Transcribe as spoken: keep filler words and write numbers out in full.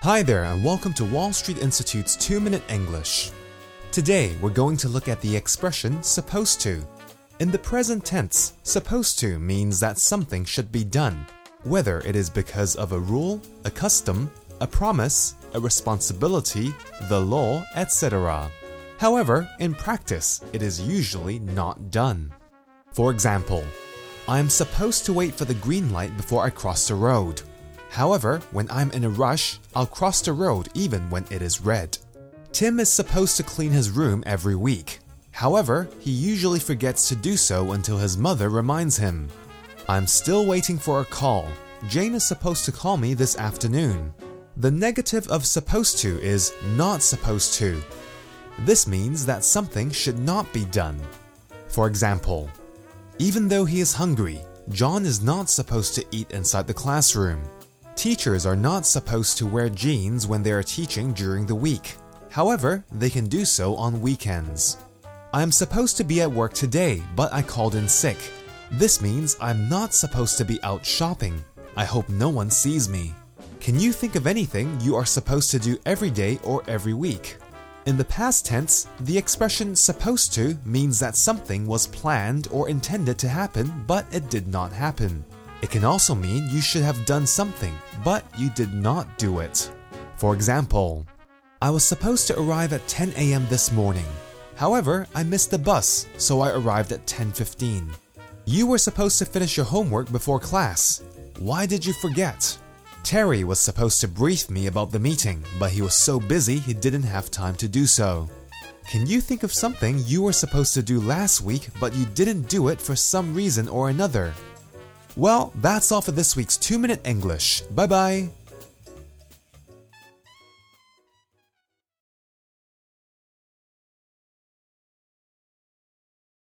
Hi there and welcome to Wall Street Institute's two minute English. Today we're going to look at the expression supposed to. In the present tense, supposed to means that something should be done, whether it is because of a rule, a custom, a promise, a responsibility, the law, et cetera. However, in practice, it is usually not done. For example, I am supposed to wait for the green light before I cross the road. However, when I'm in a rush, I'll cross the road even when it is red. Tim is supposed to clean his room every week. However, he usually forgets to do so until his mother reminds him. I'm still waiting for a call. Jane is supposed to call me this afternoon. The negative of supposed to is not supposed to. This means that something should not be done. For example, even though he is hungry, John is not supposed to eat inside the classroom. Teachers are not supposed to wear jeans when they are teaching during the week. However, they can do so on weekends. I am supposed to be at work today, but I called in sick. This means I'm not supposed to be out shopping. I hope no one sees me. Can you think of anything you are supposed to do every day or every week? In the past tense, the expression supposed to means that something was planned or intended to happen, but it did not happen. It can also mean you should have done something, but you did not do it. For example, I was supposed to arrive at ten a m this morning. However, I missed the bus, so I arrived at ten fifteen. You were supposed to finish your homework before class. Why did you forget? Terry was supposed to brief me about the meeting, but he was so busy he didn't have time to do so. Can you think of something you were supposed to do last week, but you didn't do it for some reason or another? Well, that's all for this week's two minute English. Bye bye!